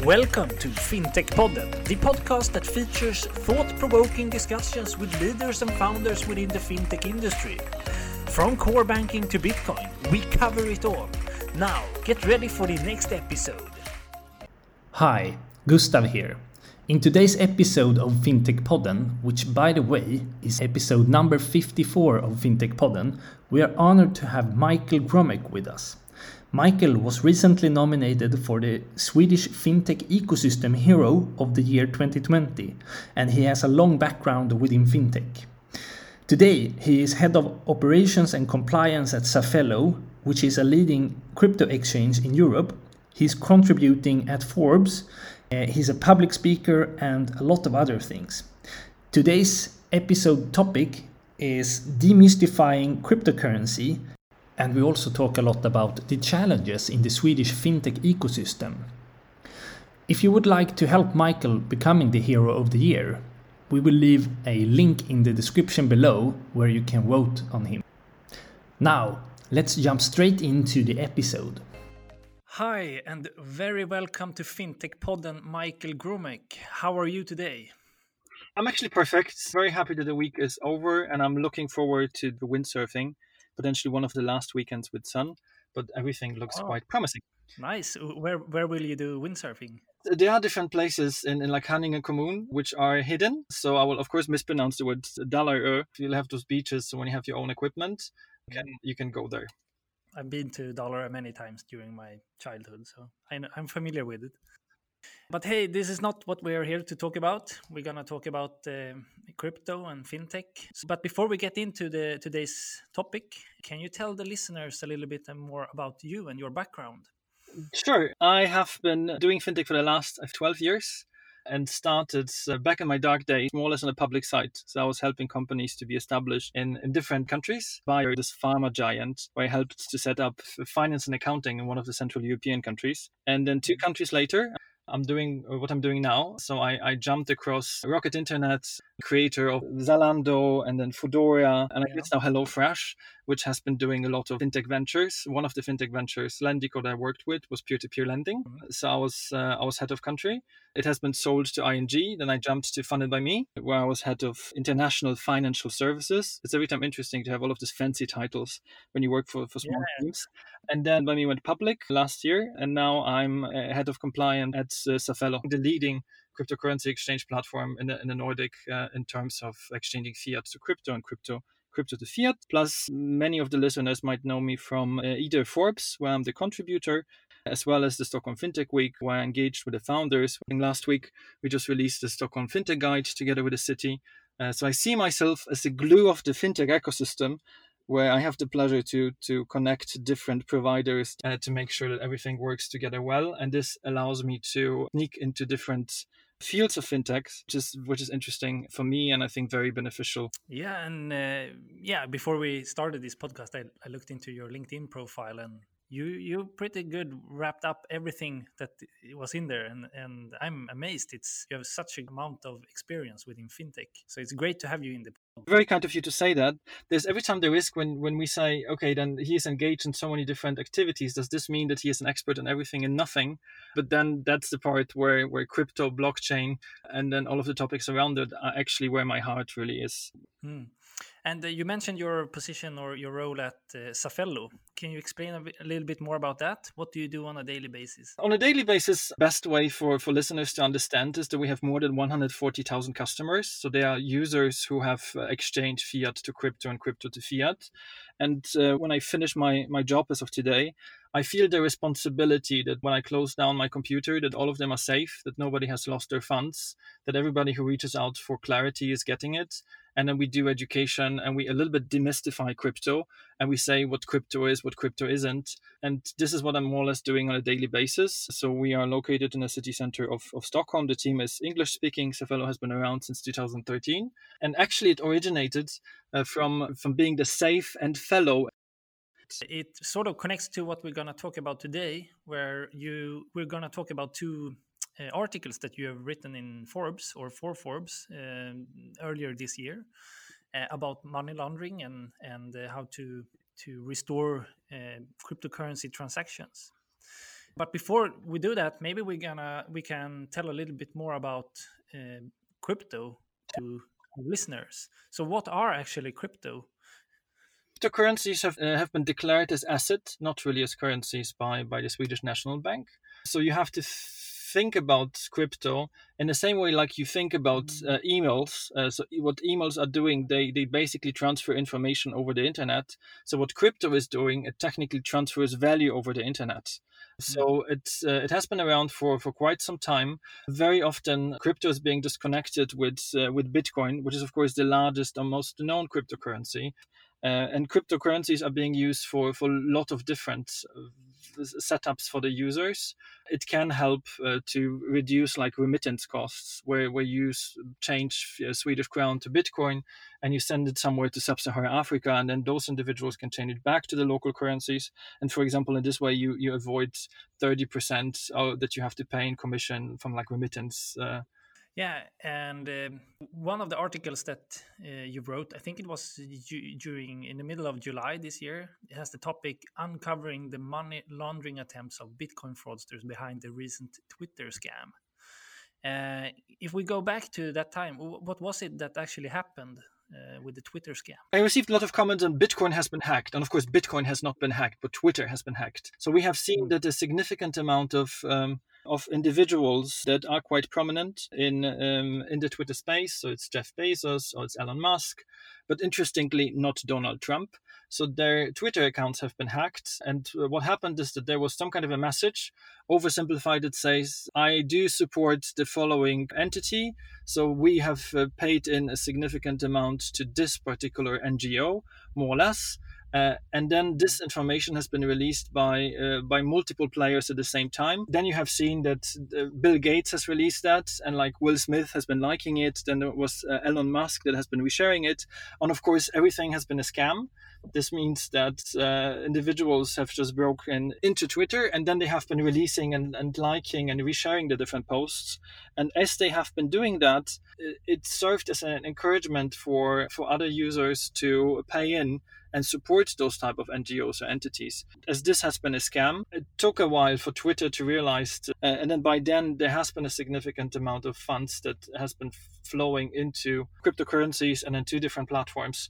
Welcome to FinTech Podden, the podcast that features thought-provoking discussions with leaders and founders within the FinTech industry. From core banking to Bitcoin, we cover it all. Now, get ready for the next episode. Hi, Gustav here. In today's episode of FinTech Podden, which by the way is episode number 54 of FinTech Podden, we are honored to have Mikael Gromek with us. Mikael was recently nominated for the Swedish FinTech Ecosystem Hero of the year 2020, and he has a long background within FinTech. Today, he is head of operations and compliance at Safello, which is a leading crypto exchange in Europe. He's contributing at Forbes, he's a public speaker, and a lot of other things. Today's episode topic is demystifying cryptocurrency, and we also talk a lot about the challenges in the Swedish FinTech ecosystem. If you would like to help Mikael becoming the hero of the year, we will leave a link in the description below where you can vote on him. Now, let's jump straight into the episode. Hi, and very welcome to FinTech Podden, Mikael Gromek. How are you today? I'm actually perfect. Very happy that the week is over, and I'm looking forward to the windsurfing, potentially one of the last weekends with sun, but everything looks quite promising. Nice. Where will you do windsurfing? There are different places in like Haninge Kommune which are hidden, so I will of course mispronounce the word Dalarö. You'll have those beaches, so when you have your own equipment, you can go there. I've been to Dalarö many times during my childhood, so I'm familiar with it. But hey, this is not what we're here to talk about. We're going to talk about crypto and fintech. But before we get into today's topic, can you tell the listeners a little bit more about you and your background? Sure. I have been doing fintech for the last 12 years and started back in my dark days, more or less on a public site. So I was helping companies to be established in different countries via this pharma giant, where I helped to set up finance and accounting in one of the Central European countries. And then 2 countries later, I'm doing what I'm doing now. So I jumped across Rocket Internet, creator of Zalando and then Foodora, and I guess now HelloFresh, which has been doing a lot of fintech ventures. One of the fintech ventures, Lendico, that I worked with was peer-to-peer lending. So I was head of country. It has been sold to ING. Then I jumped to Funded by Me, where I was head of international financial services. It's every time interesting to have all of these fancy titles when you work for small teams. And then by Me went public last year, and now I'm head of compliance at Safello, the leading cryptocurrency exchange platform in the Nordic in terms of exchanging fiat to crypto and crypto to fiat. Plus, many of the listeners might know me from either Forbes, where I'm the contributor, as well as the Stockholm FinTech Week, where I engaged with the founders. Last week, we just released the Stockholm FinTech Guide together with the city. So I see myself as the glue of the fintech ecosystem, where I have the pleasure to connect different providers to make sure that everything works together well. And this allows me to sneak into different fields of fintechs, which is interesting for me and I think very beneficial. Yeah, and before we started this podcast, I looked into your LinkedIn profile, and you pretty good wrapped up everything that was in there, and I'm amazed. You have such an amount of experience within fintech, so it's great to have you in the. Very kind of you to say that. There's every time the risk when we say, okay, then he is engaged in so many different activities. Does this mean that he is an expert on everything and nothing? But then that's the part where crypto, blockchain, and then all of the topics around it are actually where my heart really is. And you mentioned your position or your role at Safello. Can you explain a little bit more about that? What do you do on a daily basis? On a daily basis, best way for listeners to understand is that we have more than 140,000 customers. So they are users who have exchanged fiat to crypto and crypto to fiat. And when I finish my job as of today, I feel the responsibility that when I close down my computer, that all of them are safe, that nobody has lost their funds, that everybody who reaches out for clarity is getting it. And then we do education and we a little bit demystify crypto and we say what crypto is, what crypto isn't. And this is what I'm more or less doing on a daily basis. So we are located in the city center of Stockholm. The team is English speaking. Safello has been around since 2013. And actually it originated from being the safe and fellow. It sort of connects to what we're going to talk about today, where we're going to talk about 2 articles that you have written in Forbes or for Forbes earlier this year about money laundering and how to restore cryptocurrency transactions. But before we do that, maybe we can tell a little bit more about crypto to listeners. So, what are actually crypto? Cryptocurrencies have been declared as asset, not really as currencies by the Swedish National Bank. So you have to think about crypto in the same way like you think about emails. So what emails are doing, they basically transfer information over the internet. So what crypto is doing, it technically transfers value over the internet. So it has been around for quite some time. Very often, crypto is being disconnected with Bitcoin, which is of course the largest and most known cryptocurrency. And cryptocurrencies are being used for a lot of different setups for the users. It can help to reduce like remittance costs, where you change Swedish crown to Bitcoin and you send it somewhere to sub-Saharan Africa, and then those individuals can change it back to the local currencies. And for example, in this way, you avoid 30% that you have to pay in commission from like remittance. Yeah, and one of the articles that you wrote, I think it was in the middle of July this year, it has the topic uncovering the money laundering attempts of Bitcoin fraudsters behind the recent Twitter scam. If we go back to that time, what was it that actually happened with the Twitter scam? I received a lot of comments on Bitcoin has been hacked. And of course, Bitcoin has not been hacked, but Twitter has been hacked. So we have seen that a significant amount of individuals that are quite prominent in the Twitter space. So it's Jeff Bezos or it's Elon Musk, but interestingly, not Donald Trump. So their Twitter accounts have been hacked. And what happened is that there was some kind of a message. Oversimplified, it says, I do support the following entity. So we have paid in a significant amount to this particular NGO, more or less. And then this information has been released by multiple players at the same time. Then you have seen that Bill Gates has released that, and like Will Smith has been liking it. Then there was Elon Musk that has been resharing it. And of course, everything has been a scam. This means that individuals have just broken into Twitter, and then they have been releasing and liking and resharing the different posts. And as they have been doing that, it served as an encouragement for other users to pay in and support those type of NGOs or entities. As this has been a scam, it took a while for Twitter to realize, and then by then there has been a significant amount of funds that has been flowing into cryptocurrencies and into different platforms.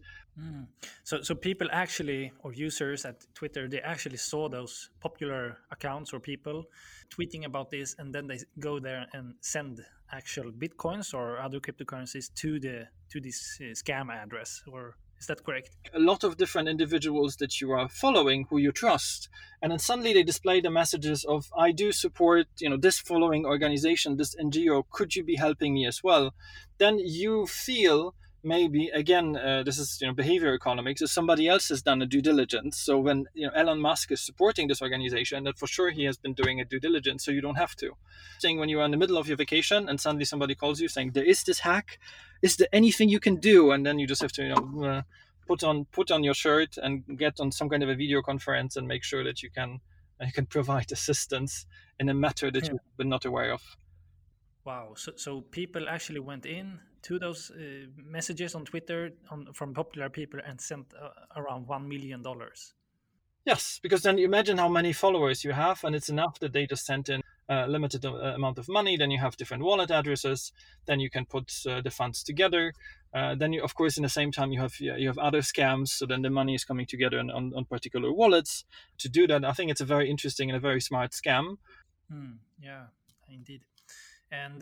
So people actually, or users at Twitter, they actually saw those popular accounts or people tweeting about this, and then they go there and send actual Bitcoins or other cryptocurrencies to this scam address, or is that correct? A lot of different individuals that you are following who you trust, and then suddenly they display the messages of, I do support, this following organization, this NGO, could you be helping me as well? Then you feel maybe, again, this is behavior economics, so somebody else has done a due diligence. So when Elon Musk is supporting this organization, that for sure he has been doing a due diligence, so you don't have to. Saying when you are in the middle of your vacation and suddenly somebody calls you saying, there is this hack, is there anything you can do? And then you just have to put on your shirt and get on some kind of a video conference and make sure that you can provide assistance in a matter that you've been not aware of. Wow. So people actually went in to those messages on Twitter from popular people and sent around $1 million. Yes, because then you imagine how many followers you have, and it's enough that they just sent in a limited amount of money. Then you have different wallet addresses. Then you can put the funds together. Then you, of course, in the same time you have other scams. So then the money is coming together on particular wallets. To do that, I think it's a very interesting and a very smart scam. Yeah, indeed. And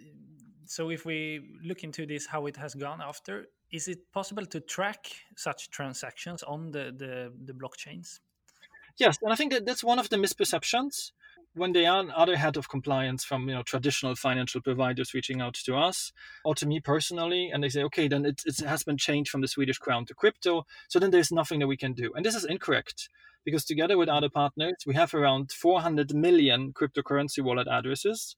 so if we look into this, how it has gone after, is it possible to track such transactions on the blockchains? Yes, and I think that's one of the misperceptions. When they are other head of compliance from traditional financial providers reaching out to us or to me personally, and they say, okay, then it has been changed from the Swedish crown to crypto, so then there's nothing that we can do. And this is incorrect, because together with other partners, we have around 400 million cryptocurrency wallet addresses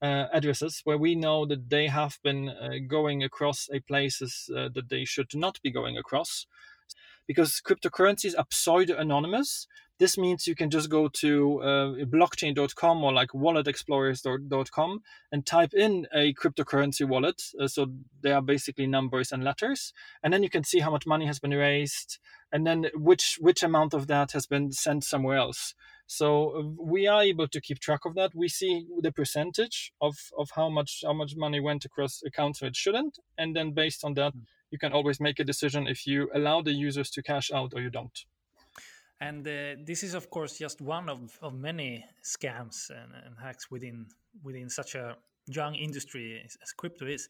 where we know that they have been going across places that they should not be going across. Because cryptocurrencies are pseudo-anonymous, This means you can just go to blockchain.com or like walletexplorers.com and type in a cryptocurrency wallet. So they are basically numbers and letters. And then you can see how much money has been raised and then which amount of that has been sent somewhere else. So we are able to keep track of that. We see the percentage of how much money went across accounts where it shouldn't. And then based on that, you can always make a decision if you allow the users to cash out or you don't. And this is, of course, just one of many scams and hacks within such a young industry as crypto is.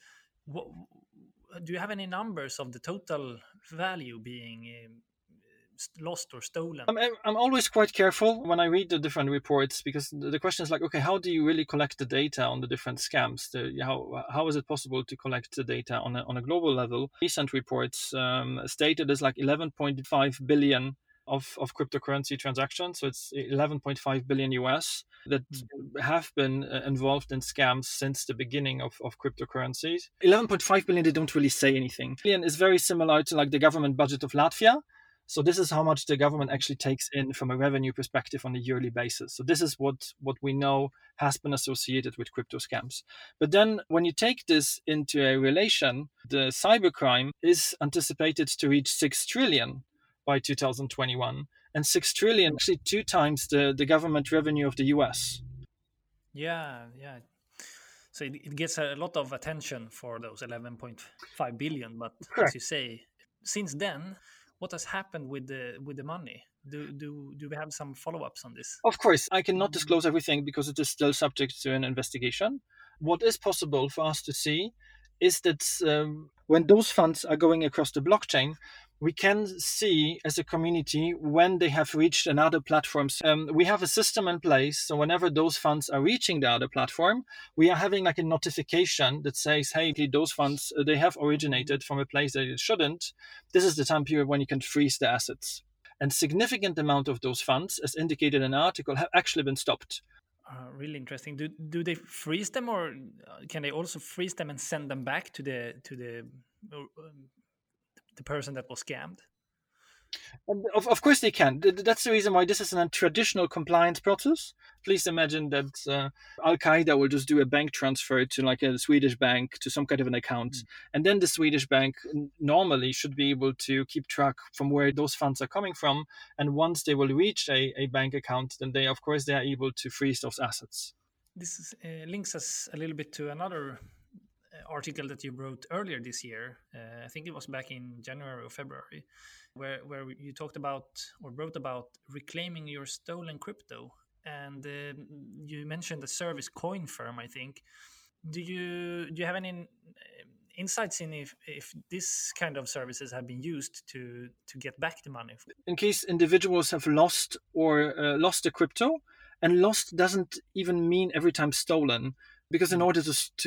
Do you have any numbers of the total value being lost or stolen? I'm always quite careful when I read the different reports, because the question is like, okay, how do you really collect the data on the different scams? How is it possible to collect the data on a global level? Recent reports stated as like 11.5 billion of cryptocurrency transactions. So it's 11.5 billion US that have been involved in scams since the beginning of cryptocurrencies. 11.5 billion, they don't really say anything. Billion is very similar to like the government budget of Latvia. So this is how much the government actually takes in from a revenue perspective on a yearly basis. So this is what we know has been associated with crypto scams. But then when you take this into a relation, the cybercrime is anticipated to reach 6 trillion by 2021. And 6 trillion, actually 2 times the government revenue of the US. Yeah. So it gets a lot of attention for those 11.5 billion. But Correct. As you say, since then, what has happened with the money? Do we have some follow-ups on this? Of course, I cannot disclose everything because it is still subject to an investigation. What is possible for us to see is that when those funds are going across the blockchain, we can see as a community when they have reached another platform. We have a system in place, so whenever those funds are reaching the other platform, we are having like a notification that says, hey, those funds, they have originated from a place that it shouldn't. This is the time period when you can freeze the assets. And significant amount of those funds, as indicated in the article, have actually been stopped. Really interesting. Do they freeze them, or can they also freeze them and send them back to the person that was scammed? Of course they can. That's the reason why this is a traditional compliance process. Please imagine that Al-Qaeda will just do a bank transfer to like a Swedish bank to some kind of an account. And then the Swedish bank normally should be able to keep track from where those funds are coming from. And once they will reach a bank account, then they are able to freeze those assets. This links us a little bit to another article that you wrote earlier this year. I think it was back in January or February, where you talked about or wrote about reclaiming your stolen crypto, and you mentioned the service CoinFirm. I think. Do you have any insights in if this kind of services have been used to get back the money? In case individuals have lost the crypto, and lost doesn't even mean every time stolen. Because in order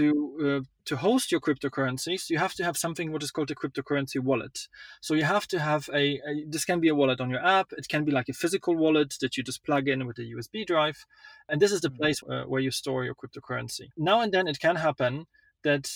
to host your cryptocurrencies, you have to have something what is called a cryptocurrency wallet. So you have to have this can be a wallet on your app. It can be like a physical wallet that you just plug in with a USB drive. And this is the place where you store your cryptocurrency. Now and then it can happen that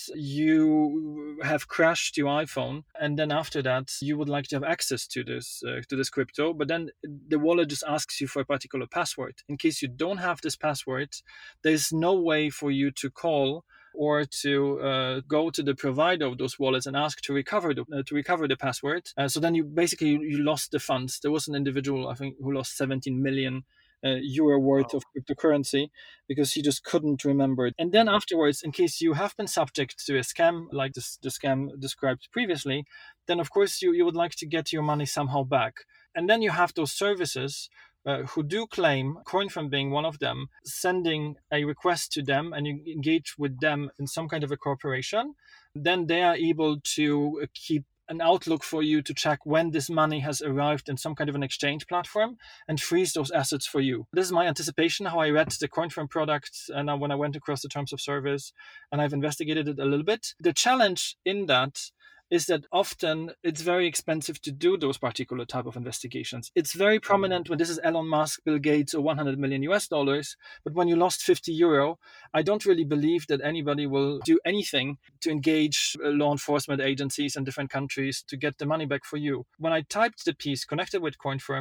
you have crashed your iPhone, and then after that you would like to have access to this crypto, but then the wallet just asks you for a particular password. In case you don't have this password, there's no way for you to call or to go to the provider of those wallets and ask to recover the password. So then you lost the funds. There was an individual, I think, who lost 17 million euro worth of cryptocurrency because he just couldn't remember it. And then afterwards, in case you have been subject to a scam like the scam described previously, then of course you would like to get your money somehow back. And then you have those services who do claim, CoinFirm being one of them, sending a request to them and you engage with them in some kind of a cooperation. Then they are able to keep an outlook for you to check when this money has arrived in some kind of an exchange platform and freeze those assets for you. This is my anticipation, how I read the CoinFirm product and when I went across the terms of service and I've investigated it a little bit. The challenge in that is that often it's very expensive to do those particular type of investigations. It's very prominent when this is Elon Musk, Bill Gates, or 100 million US dollars. But when you lost 50 euro, I don't really believe that anybody will do anything to engage law enforcement agencies in different countries to get the money back for you. When I typed the piece connected with CoinFirm,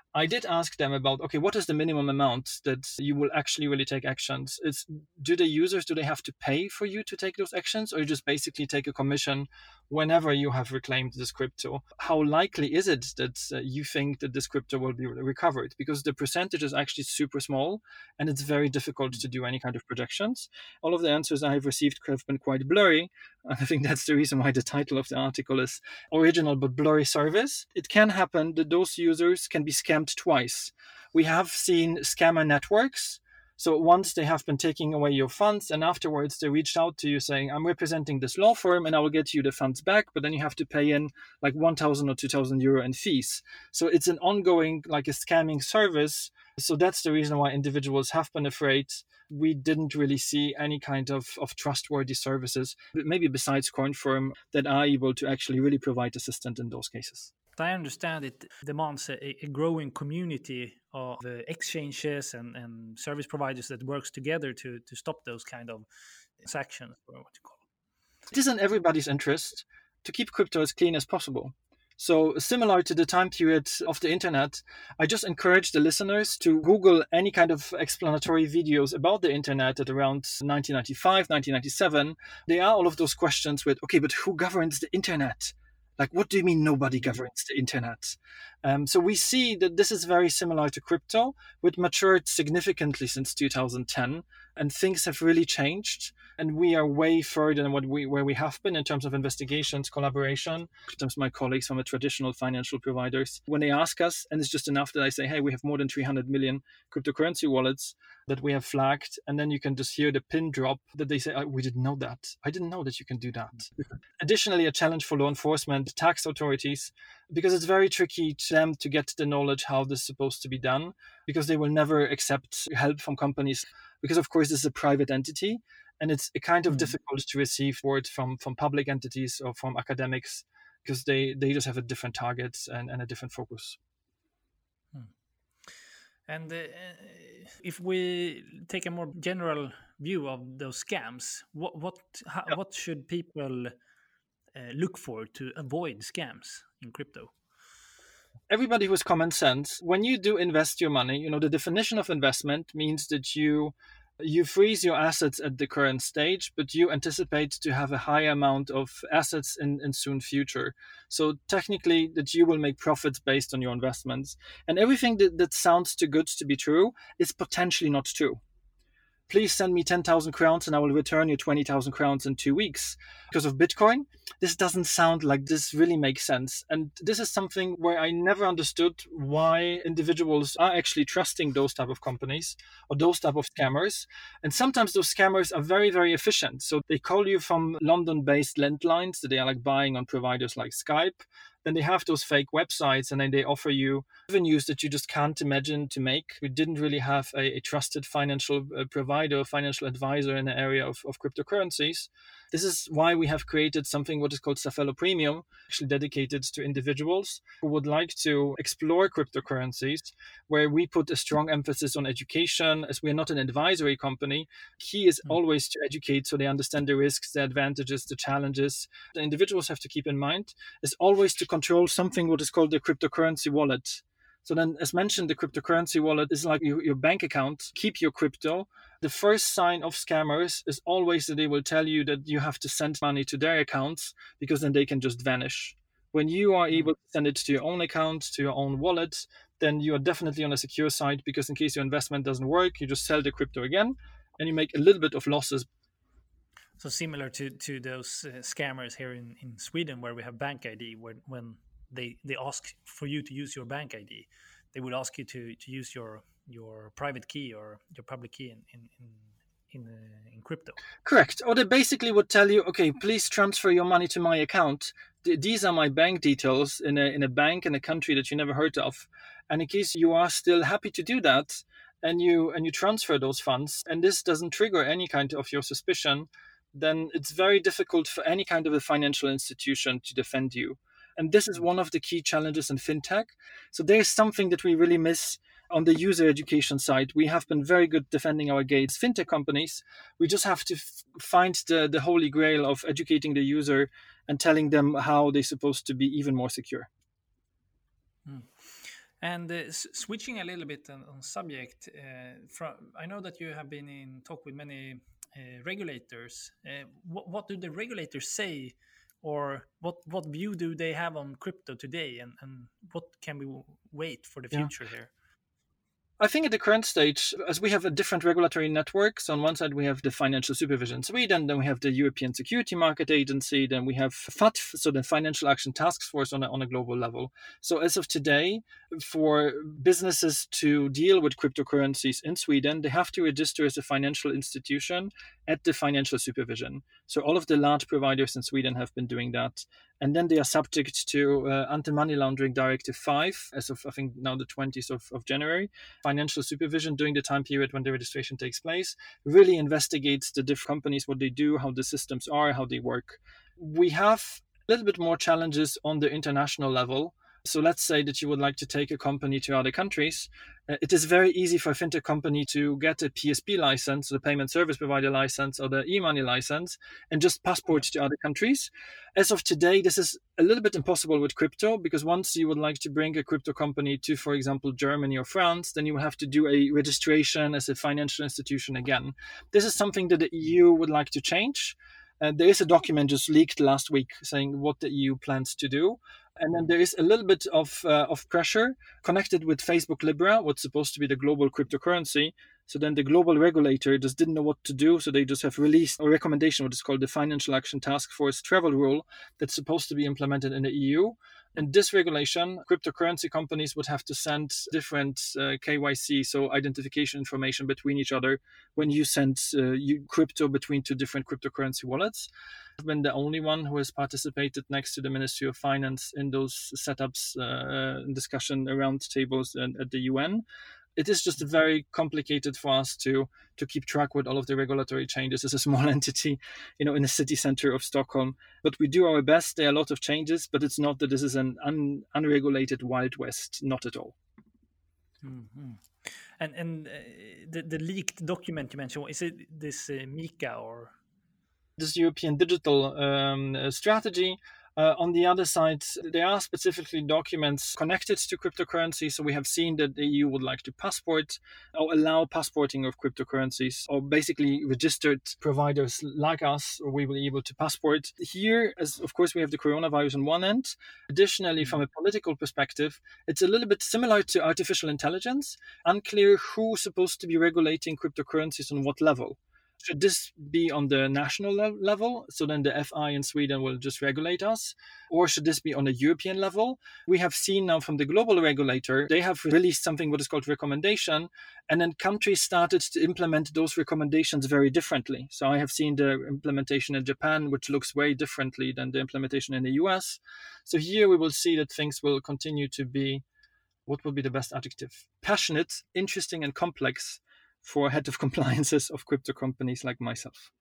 I did ask them about, okay, what is the minimum amount that you will actually really take actions? Do the users, do they have to pay for you to take those actions, or you just basically take a commission whenever you have reclaimed this crypto? How likely is it that you think that this crypto will be recovered? Because the percentage is actually super small and it's very difficult to do any kind of projections. All of the answers I have received have been quite blurry. I think that's the reason why the title of the article is Original but Blurry Service. It can happen that those users can be scammed twice. We have seen scammer networks. So once they have been taking away your funds, and afterwards they reached out to you saying, I'm representing this law firm and I will get you the funds back, but then you have to pay in like 1,000 or 2,000 euro in fees. So it's an ongoing, like a scamming service. So that's the reason why individuals have been afraid. We didn't really see any kind of trustworthy services, maybe besides CoinFirm, that are able to actually really provide assistance in those cases. I understand it demands a growing community of exchanges and service providers that works together to stop those kind of transactions, or what you call it. It is in everybody's interest to keep crypto as clean as possible. So similar to the time period of the internet, I just encourage the listeners to Google any kind of explanatory videos about the internet at around 1995, 1997. There are all of those questions with, okay, but who governs the internet? Like, what do you mean nobody governs the internet? So we see that this is very similar to crypto, which matured significantly since 2010, and things have really changed. And we are way further than where we have been in terms of investigations, collaboration. In terms of my colleagues from the traditional financial providers, when they ask us, and it's just enough that I say, hey, we have more than 300 million cryptocurrency wallets that we have flagged, and then you can just hear the pin drop that they say, we didn't know that. I didn't know that you can do that. Additionally, a challenge for law enforcement, tax authorities, because it's very tricky to them to get the knowledge how this is supposed to be done, because they will never accept help from companies, because of course this is a private entity, and it's a kind of difficult to receive word from public entities or from academics, because they just have a different target and a different focus. And if we take a more general view of those scams, what should people look for to avoid scams in crypto? Everybody who has common sense, when you do invest your money, the definition of investment means that you freeze your assets at the current stage, but you anticipate to have a higher amount of assets in soon future. So technically that you will make profits based on your investments. And everything that sounds too good to be true is potentially not true. Please send me 10,000 crowns and I will return you 20,000 crowns in 2 weeks. Because of Bitcoin, this doesn't sound like this really makes sense. And this is something where I never understood why individuals are actually trusting those type of companies or those type of scammers. And sometimes those scammers are very, very efficient. So they call you from London-based landlines that they are like buying on providers like Skype. Then they have those fake websites and then they offer you revenues that you just can't imagine to make. We didn't really have a trusted financial provider, financial advisor in the area of cryptocurrencies. This is why we have created something what is called Safello Premium, actually dedicated to individuals who would like to explore cryptocurrencies, where we put a strong emphasis on education. As we are not an advisory company, key is always to educate so they understand the risks, the advantages, the challenges. The individuals have to keep in mind is always to control something what is called the cryptocurrency wallet. So then, as mentioned, the cryptocurrency wallet is like your bank account. Keep your crypto. The first sign of scammers is always that they will tell you that you have to send money to their accounts, because then they can just vanish. When you are able to send it to your own account, to your own wallet, then you are definitely on a secure side, because in case your investment doesn't work, you just sell the crypto again and you make a little bit of losses. So similar to those scammers here in Sweden, where we have Bank ID, when they ask for you to use your Bank ID, they would ask you to use your private key or your public key in crypto. Correct. Or they basically would tell you, okay, please transfer your money to my account. These are my bank details in a bank in a country that you never heard of. And in case you are still happy to do that, and you transfer those funds, and this doesn't trigger any kind of your suspicion, then it's very difficult for any kind of a financial institution to defend you. And this is one of the key challenges in fintech. So there's something that we really miss on the user education side. We have been very good defending our gates, fintech companies. We just have to find the holy grail of educating the user and telling them how they're supposed to be even more secure. And switching a little bit on subject, I know that you have been in talk with many regulators. What do the regulators say, or what view do they have on crypto today, and what can we wait for the Yeah. future here? I think at the current stage, as we have a different regulatory network, so on one side we have the Financial Supervision Sweden, then we have the European Security Market Agency, then we have FATF, so the Financial Action Task Force on a global level. So as of today, for businesses to deal with cryptocurrencies in Sweden, they have to register as a financial institution at the Financial Supervision. So all of the large providers in Sweden have been doing that. And then they are subject to Anti-Money Laundering Directive 5 as of, I think, now the 20th of January. Financial supervision during the time period when the registration takes place really investigates the different companies, what they do, how the systems are, how they work. We have a little bit more challenges on the international level. So let's say that you would like to take a company to other countries. It is very easy for a fintech company to get a PSP license, the payment service provider license, or the e-money license, and just passport to other countries. As of today, this is a little bit impossible with crypto, because once you would like to bring a crypto company to, for example, Germany or France, then you will have to do a registration as a financial institution again. This is something that the EU would like to change. There is a document just leaked last week saying what the EU plans to do. And then there is a little bit of pressure connected with Facebook Libra, what's supposed to be the global cryptocurrency. So then the global regulator just didn't know what to do. So they just have released a recommendation, what is called the Financial Action Task Force travel rule, that's supposed to be implemented in the EU. And this regulation, cryptocurrency companies would have to send different KYC, so identification information between each other when you send crypto between two different cryptocurrency wallets. I've been the only one who has participated next to the Ministry of Finance in those setups, discussion around tables at the UN. It is just very complicated for us to keep track with all of the regulatory changes as a small entity, in the city center of Stockholm. But we do our best. There are a lot of changes, but it's not that this is an unregulated Wild West, not at all. Mm-hmm. And the leaked document you mentioned, is it this MiCA or? This European digital strategy. On the other side, there are specifically documents connected to cryptocurrency. So we have seen that the EU would like to passport or allow passporting of cryptocurrencies, or basically registered providers like us, we will be able to passport. Here, as of course, we have the coronavirus on one end. Additionally, from a political perspective, it's a little bit similar to artificial intelligence. Unclear who's supposed to be regulating cryptocurrencies on what level. Should this be on the national level? So then the FI in Sweden will just regulate us? Or should this be on a European level? We have seen now from the global regulator, they have released something what is called recommendation. And then countries started to implement those recommendations very differently. So I have seen the implementation in Japan, which looks way differently than the implementation in the US. So here we will see that things will continue to be, what would be the best adjective? Passionate, interesting, and complex for head of compliances of crypto companies like myself.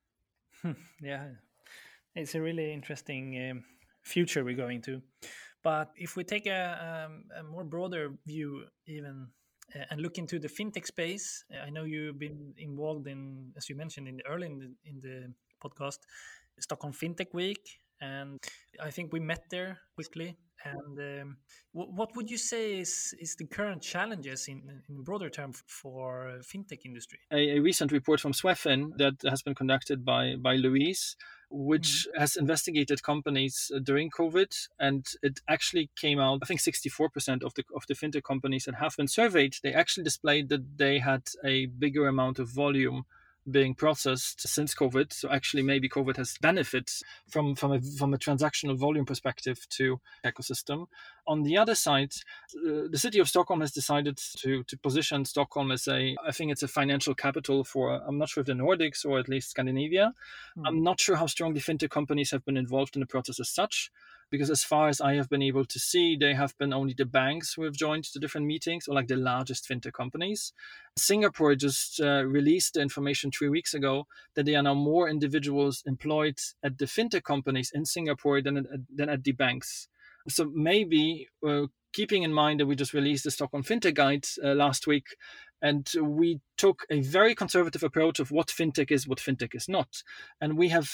Yeah, it's a really interesting future we're going to. But if we take a more broader view even and look into the fintech space, I know you've been involved in, as you mentioned early in the podcast, Stockholm Fintech Week. And I think we met there quickly. And what would you say is the current challenges in broader terms for fintech industry? A recent report from Swefin that has been conducted by Louise, which has investigated companies during COVID, and it actually came out, I think 64% of the fintech companies that have been surveyed, they actually displayed that they had a bigger amount of volume being processed since COVID. So actually maybe COVID has benefits from a transactional volume perspective to ecosystem. On the other side, the city of Stockholm has decided to position Stockholm as I think it's a financial capital for, I'm not sure if the Nordics or at least Scandinavia. I'm not sure how strongly fintech companies have been involved in the process as such, because as far as I have been able to see, they have been only the banks who have joined the different meetings, or like the largest fintech companies. Singapore just released the information 3 weeks ago that there are now more individuals employed at the fintech companies in Singapore than at the banks. So maybe keeping in mind that we just released the Stockholm Fintech Guide last week, And we took a very conservative approach of what fintech is not. And we have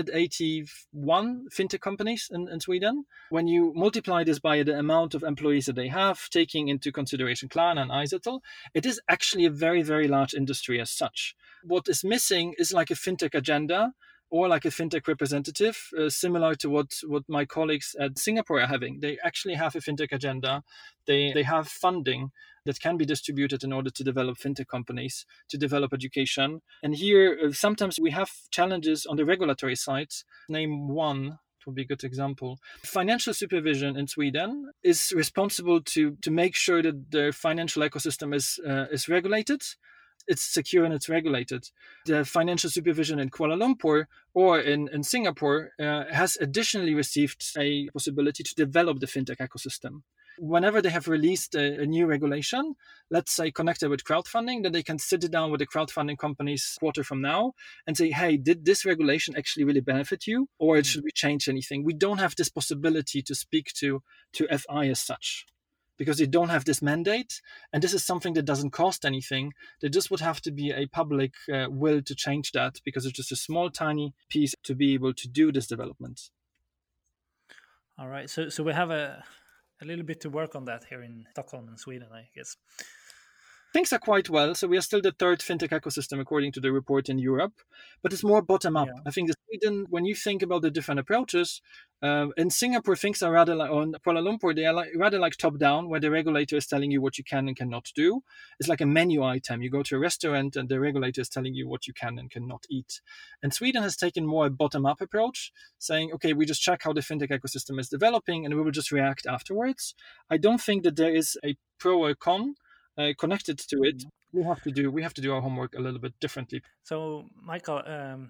381 fintech companies in Sweden. When you multiply this by the amount of employees that they have, taking into consideration Klarna and Izettle, it is actually a very, very large industry as such. What is missing is like a fintech agenda or like a fintech representative, similar to what my colleagues at Singapore are having. They actually have a fintech agenda. They have funding that can be distributed in order to develop fintech companies, to develop education. And here, sometimes we have challenges on the regulatory side. Name one. It would be a good example. Financial supervision in Sweden is responsible to make sure that the financial ecosystem is regulated. It's secure and it's regulated. The financial supervision in Kuala Lumpur or in Singapore has additionally received a possibility to develop the fintech ecosystem. Whenever they have released a new regulation, let's say connected with crowdfunding, then they can sit down with the crowdfunding companies a quarter from now and say, hey, did this regulation actually really benefit you? Or should we change anything? We don't have this possibility to speak to FI as such, because they don't have this mandate. And this is something that doesn't cost anything. There just would have to be a public will to change that, because it's just a small, tiny piece to be able to do this development. All right. So we have a little bit to work on that here in Stockholm and Sweden, I guess. Things are quite well. So we are still the third fintech ecosystem according to the report in Europe, but it's more bottom up. Yeah. I think Sweden, when you think about the different approaches, in Singapore, things are rather like, on Kuala Lumpur, they are rather like top down, where the regulator is telling you what you can and cannot do. It's like a menu item. You go to a restaurant and the regulator is telling you what you can and cannot eat. And Sweden has taken more a bottom up approach, saying, okay, we just check how the fintech ecosystem is developing and we will just react afterwards. I don't think that there is a pro or con connected to it. We have to do our homework a little bit differently. So, Michael,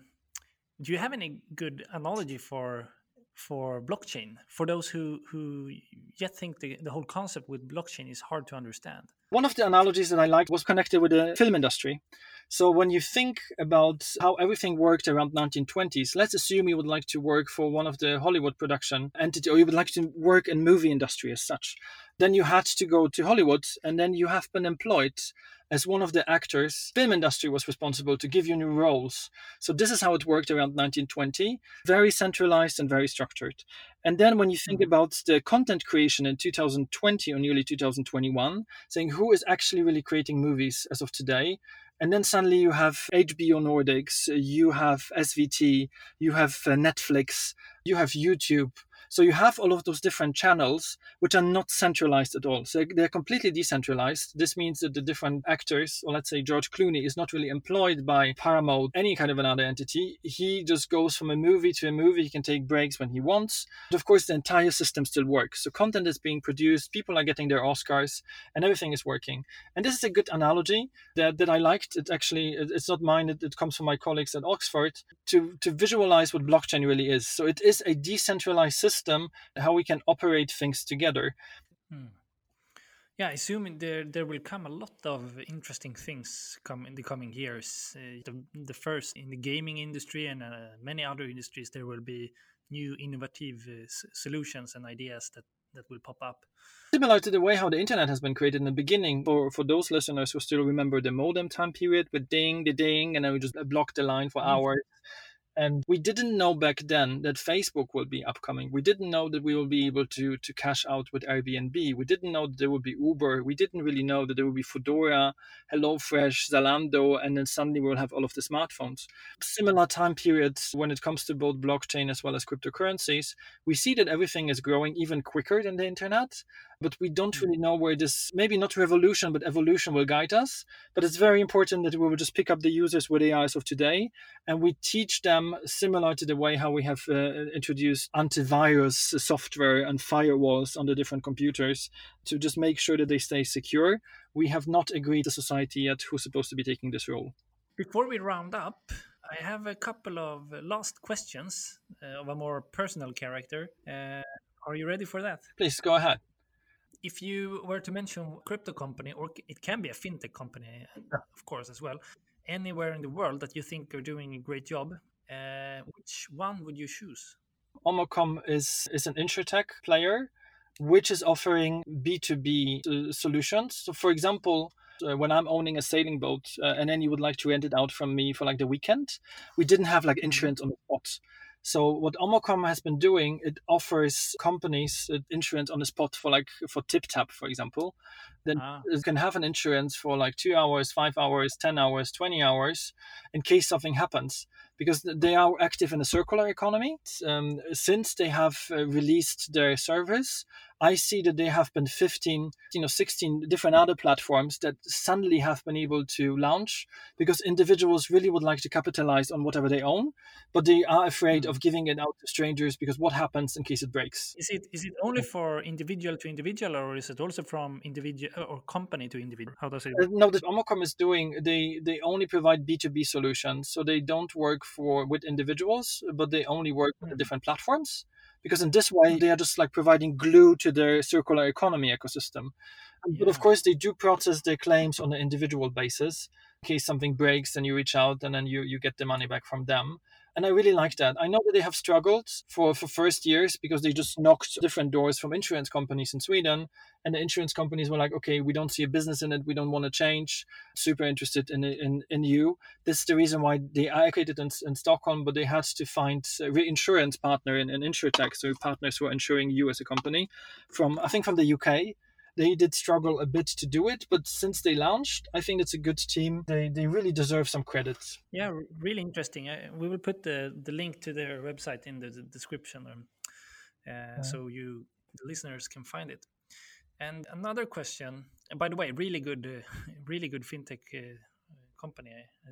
do you have any good analogy for blockchain, for those who yet think the whole concept with blockchain is hard to understand? One of the analogies that I liked was connected with the film industry. So when you think about how everything worked around 1920s, let's assume you would like to work for one of the Hollywood production entity, or you would like to work in movie industry as such. Then you had to go to Hollywood, and then you have been employed as one of the actors. Film industry was responsible to give you new roles. So this is how it worked around 1920, very centralized and very structured. And then when you think about the content creation in 2020 or nearly 2021, saying who is actually really creating movies as of today, and then suddenly you have HBO Nordics, you have SVT, you have Netflix, you have YouTube. So you have all of those different channels, which are not centralized at all. So they're completely decentralized. This means that the different actors, or let's say George Clooney, is not really employed by Paramount, any kind of another entity. He just goes from a movie to a movie. He can take breaks when he wants. But of course, the entire system still works. So content is being produced, people are getting their Oscars, and everything is working. And this is a good analogy that I liked. It's not mine. It comes from my colleagues at Oxford to visualize what blockchain really is. So it is a decentralized system, how we can operate things together. Yeah, assuming there will come a lot of interesting things in the coming years. The first in the gaming industry and many other industries, there will be new innovative solutions and ideas that will pop up. Similar to the way how the internet has been created in the beginning, for those listeners who still remember the modem time period with ding, and then we just block the line for hours. And we didn't know back then that Facebook will be upcoming. We didn't know that we will be able to cash out with Airbnb. We didn't know that there would be Uber. We didn't really know that there would be Foodora, HelloFresh, Zalando, and then suddenly we'll have all of the smartphones. Similar time periods when it comes to both blockchain as well as cryptocurrencies. We see that everything is growing even quicker than the internet, but we don't really know where this, maybe not revolution, but evolution will guide us. But it's very important that we will just pick up the users where they are as of today, and we teach them similar to the way how we have introduced antivirus software and firewalls on the different computers to just make sure that they stay secure. We have not agreed to society yet who's supposed to be taking this role. Before we round up, I have a couple of last questions of a more personal character. Are you ready for that? Please go ahead. If you were to mention a crypto company, or it can be a fintech company, of course, as well, anywhere in the world that you think are doing a great job, which one would you choose? Omocom is an insurtech player, which is offering B2B solutions. So, for example, when I'm owning a sailing boat and then you would like to rent it out from me for like the weekend, we didn't have like insurance on the spot. So what Omocom has been doing, it offers companies insurance on the spot for TipTap, for example. Then you can have an insurance for like 2 hours, 5 hours, 10 hours, 20 hours in case something happens, because they are active in the circular economy. Since they have released their service, I see that they have been 16 different other platforms that suddenly have been able to launch, because individuals really would like to capitalize on whatever they own, but they are afraid of giving it out to strangers, because what happens in case it breaks? Is it only for individual to individual, or is it also from individual or company to individual? How does it work? No, that Omocom is doing, they only provide B2B solutions, so they don't work with individuals, but they only work with the different platforms. Because in this way, they are just like providing glue to their circular economy ecosystem. But of course, they do process their claims on an individual basis. In case something breaks, then you reach out and then you get the money back from them. And I really like that. I know that they have struggled for first years, because they just knocked different doors from insurance companies in Sweden. And the insurance companies were like, okay, we don't see a business in it. We don't want to change. Super interested in you. This is the reason why they are located in Stockholm, but they had to find a reinsurance partner in InsurTech, so partners who are insuring you as a company from the UK. They did struggle a bit to do it, but since they launched, I think it's a good team. They really deserve some credit. Yeah, really interesting. We will put the link to their website in the description, so the listeners can find it. And another question, and by the way, really good fintech company.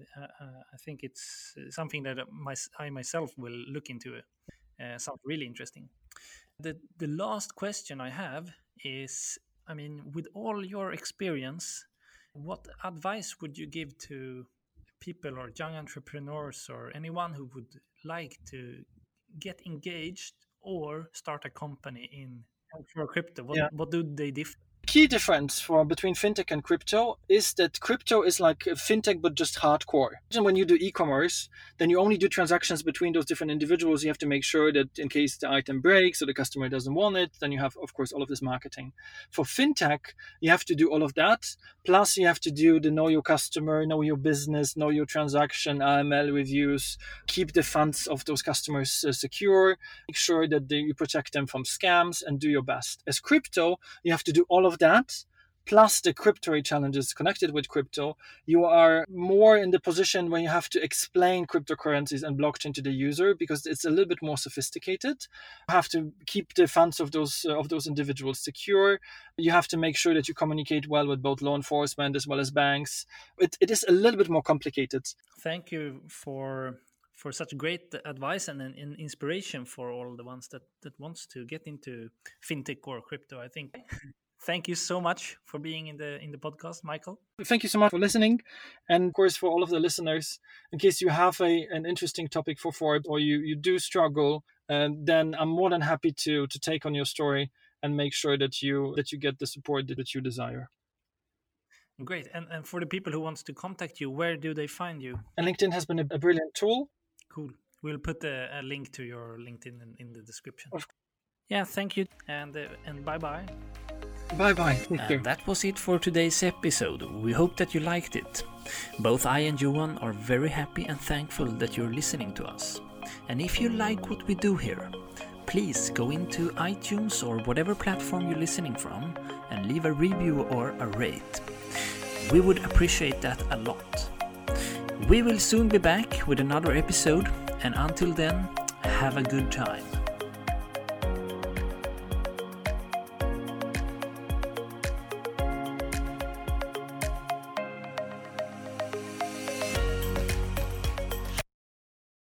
I think it's something that I myself will look into. Sounds really interesting. The last question I have is, I mean, with all your experience, what advice would you give to people or young entrepreneurs or anyone who would like to get engaged or start a company for crypto? What do they differ? Key difference between fintech and crypto is that crypto is like fintech, but just hardcore. And when you do e-commerce, then you only do transactions between those different individuals. You have to make sure that in case the item breaks or the customer doesn't want it, then you have, of course, all of this marketing. For fintech, you have to do all of that. Plus, you have to do the know your customer, know your business, know your transaction, AML reviews, keep the funds of those customers secure, make sure that you protect them from scams, and do your best. As crypto, you have to do all of that, plus the crypto challenges connected with crypto. You are more in the position where you have to explain cryptocurrencies and blockchain to the user, because it's a little bit more sophisticated. You have to keep the funds of those individuals secure. You have to make sure that you communicate well with both law enforcement as well as banks. It is a little bit more complicated. Thank you for such great advice and inspiration for all the ones that wants to get into fintech or crypto, I think. Thank you so much for being in the podcast, Michael. Thank you so much for listening. And of course, for all of the listeners, in case you have an interesting topic for Forbes, or you do struggle, then I'm more than happy to take on your story and make sure that you get the support that you desire. Great. And for the people who wants to contact you, where do they find you? And LinkedIn has been a brilliant tool. Cool. We'll put a link to your LinkedIn in the description. Yeah, thank you. And bye-bye. Bye-bye. And that was it for today's episode. We hope that you liked it. Both I and Johan are very happy and thankful that you're listening to us. And if you like what we do here, please go into iTunes or whatever platform you're listening from and leave a review or a rate. We would appreciate that a lot. We will soon be back with another episode, and until then, have a good time.